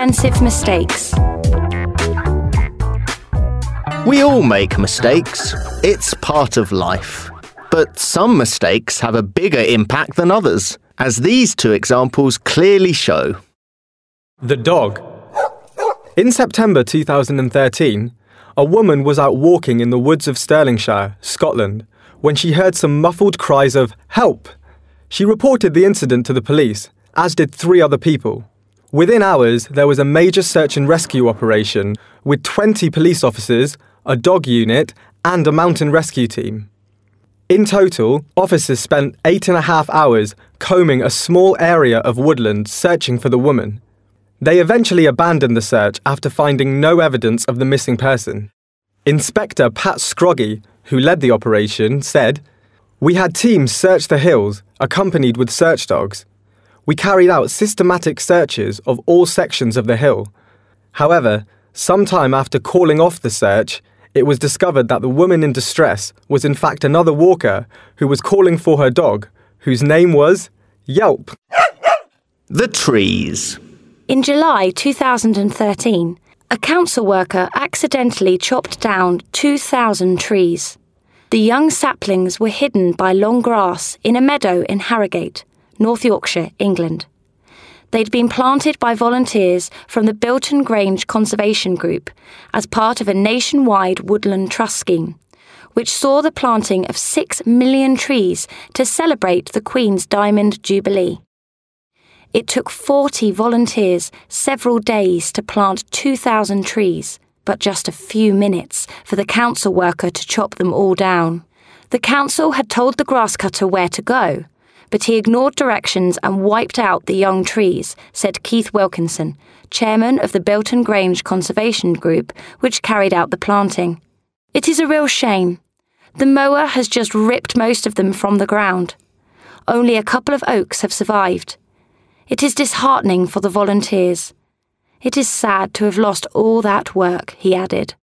expensive mistakes. We all make mistakes. It's part of life. But some mistakes have a bigger impact than others, as these two examples clearly show. The dog. In September 2013, a woman was out walking in the woods of Stirlingshire, Scotland, when she heard some muffled cries of "help." She reported the incident to the police, as did 3 other people. Within hours, there was a major search and rescue operation with 20 police officers, a dog unit, and a mountain rescue team. In total, officers spent 8.5 hours combing a small area of woodland searching for the woman. They eventually abandoned the search after finding no evidence of the missing person. Inspector Pat Scroggy, who led the operation, said, "We had teams search the hills, accompanied with search dogs. We carried out systematic searches of all sections of the hill. However, sometime after calling off the search, it was discovered that the woman in distress was in fact another walker who was calling for her dog, whose name was Yelp." The trees. In July 2013, a council worker accidentally chopped down 2,000 trees. The young saplings were hidden by long grass in a meadow in Harrogate, North Yorkshire, England. They'd been planted by volunteers from the Bilton Grange Conservation Group as part of a nationwide woodland trust scheme, which saw the planting of 6 million trees to celebrate the Queen's Diamond Jubilee. It took 40 volunteers several days to plant 2,000 trees, but just a few minutes for the council worker to chop them all down. The council had told the grass cutter where to go, but he ignored directions and wiped out the young trees, said Keith Wilkinson, chairman of the Bilton Grange Conservation Group, which carried out the planting. "It is a real shame. The mower has just ripped most of them from the ground. Only a couple of oaks have survived. It is disheartening for the volunteers. It is sad to have lost all that work," he added.